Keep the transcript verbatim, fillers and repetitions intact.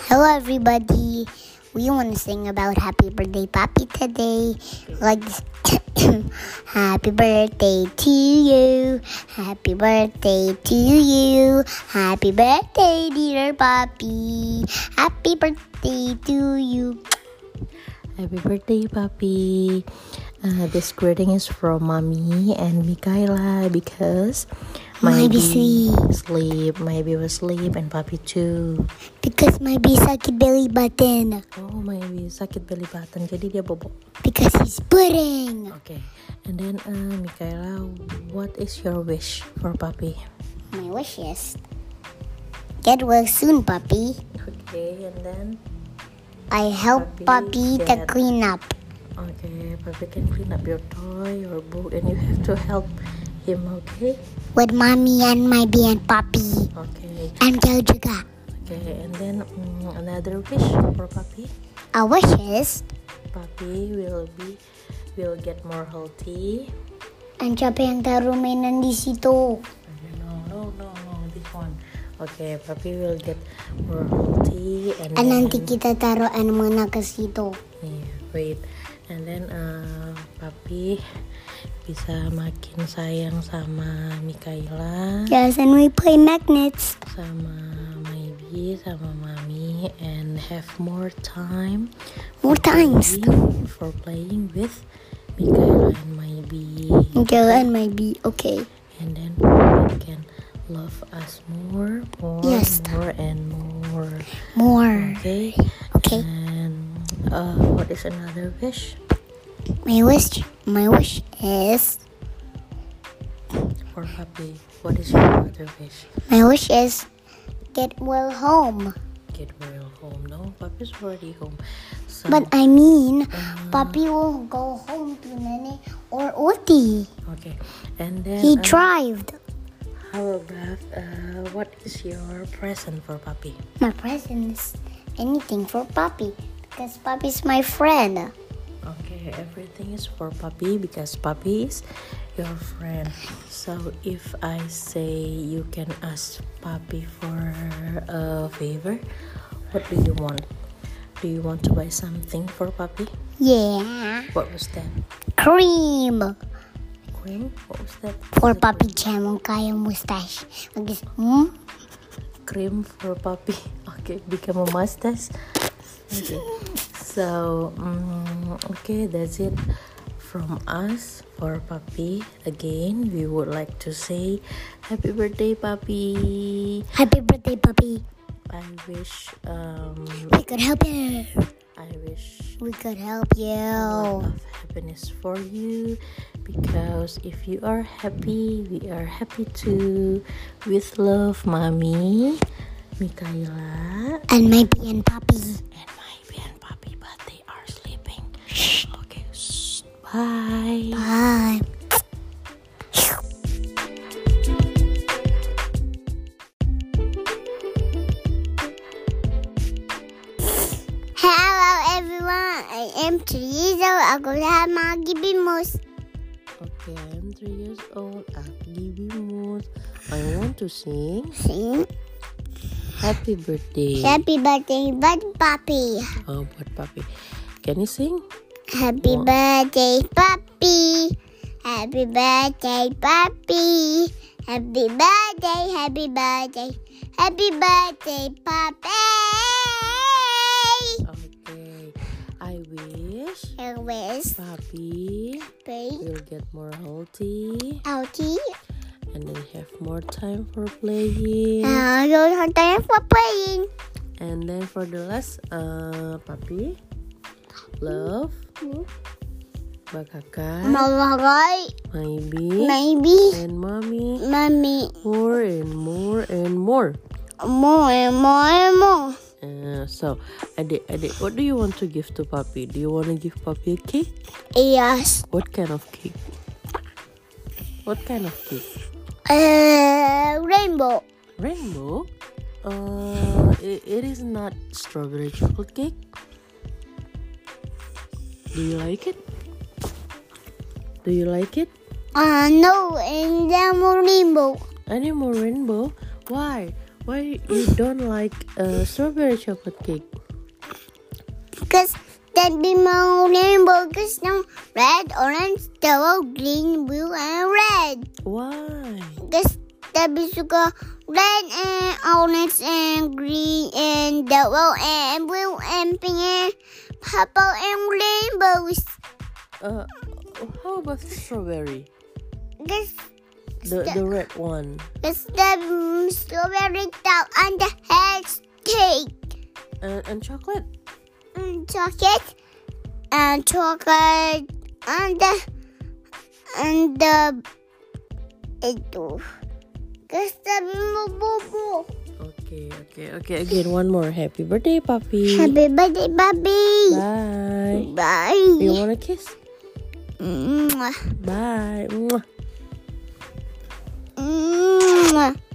Hello everybody. We want to sing about happy birthday Papi today. Like this. Happy birthday to you. Happy birthday to you. Happy birthday dear Papi. Happy birthday to you. Happy birthday, Papi. Uh, this greeting is from Mommy and Mikaela because Maybe Maybe sleep. sleep, Maybe was sleep, and Papi too. Because maybe sakit belly button. Oh, Maybe sakit belly button, jadi dia bobok. Because he's pudding. Okay, and then uh, Mikaela, what is your wish for Papi? My wish is get well soon, Papi. Okay, and then I help Papi Papi to get- clean up. okay, Papi can clean up your toy or book, and you have to help him. Okay, With Mommy and Maybe and Papi. okay, And Joe juga. okay, and then um, another wish for Papi. Our wish is Papi will be will get more healthy. ang siapa yang taruh mainan di situ. No, no, no, no, this one. Okay, Papi will get more healthy, and And then, nanti kita taruh ano muna ke situ. yeah, wait, and then uh, Papi bisa makin sayang sama Mikaela, Yes, and we play magnets. sama Maybe, sama Mami, and have more time. More for times. playing- for playing with Mikaela and Maybe. Okay, and Maybe. Okay. And then Papi can love us more, more, Yes. more, and more. More. Okay. Okay. And uh, what is another wish My wish, my wish is, for Papi? What is your other wish? my wish is get well home. Get well home. No, Papi's already home. So, But I mean, uh, Papi will go home to Nene or Oti. okay. And then He uh, drived. how about uh, what is your present for Papi? My present is anything for Papi because Papi's my friend. Okay, everything is for Papi because Papi is your friend. So if I say you can ask Papi for a favor, what do you want? Do you want to buy something for Papi? Yeah, What was that? cream Cream? What was that? for Was it Papi Jam kaya mustache. Like this. Hmm? cream for Papi? Okay, become a mustache. Okay. So, um, okay, that's it from us for Papi. Again, we would like to say happy birthday, Papi. Happy birthday, Papi. I wish, um, We could help you. I wish We could help a lot you. of happiness for you, because if you are happy, we are happy too. With love, Mommy, Mikaela, And maybe and Papi. and Maybe and Papi, but they are sleeping. Okay, shh, bye. Bye. Hello everyone, I am Teresa. Ako lahat mga gibimus. Okay, I'm three years old. Akgibimus. I want to sing Sing. Happy Birthday. Happy birthday, bud Papi. Oh, what Papi? Can you sing? Happy What? birthday, Papi. Happy birthday, Papi. Happy birthday, happy birthday. Happy birthday, Papi. Okay. I wish I wish Papi Papi will get more healthy Outie. and then have more time for playing. I don't have time for playing. And then for the last, uh, Papi, love, Bakaka, Malagay. Maybe, Maybe. and Mommy, Mommy. more and more and more. More, more, more. Uh, so, Adik, Adik, what do you want to give to Papi? Do you want to give Papi a cake? Yes. What kind of cake? What kind of cake? Uh, rainbow. Rainbow? Uh, it, it is not strawberry chocolate cake. Do you like it? Do you like it? Uh, no, and then more rainbow. Any more rainbow? Why? Why you don't like uh, strawberry chocolate cake? Because that be more rainbow. Because no red, orange, yellow, green, blue, and red. Why? Because that be suka red and orange and green and yellow and blue and pink and purple and rainbows. Uh, how about strawberry? Because The the red one. It's the mm, strawberry top on the head cake. And, and chocolate? And chocolate. And chocolate. And the. And the. Itu. Gusto mo bubu. Okay, okay, okay. Again, one more. Happy birthday, Papi. Happy birthday, Bobby. Bye. Bye. You want a kiss? Mwah. Bye. Mwah. Mwah.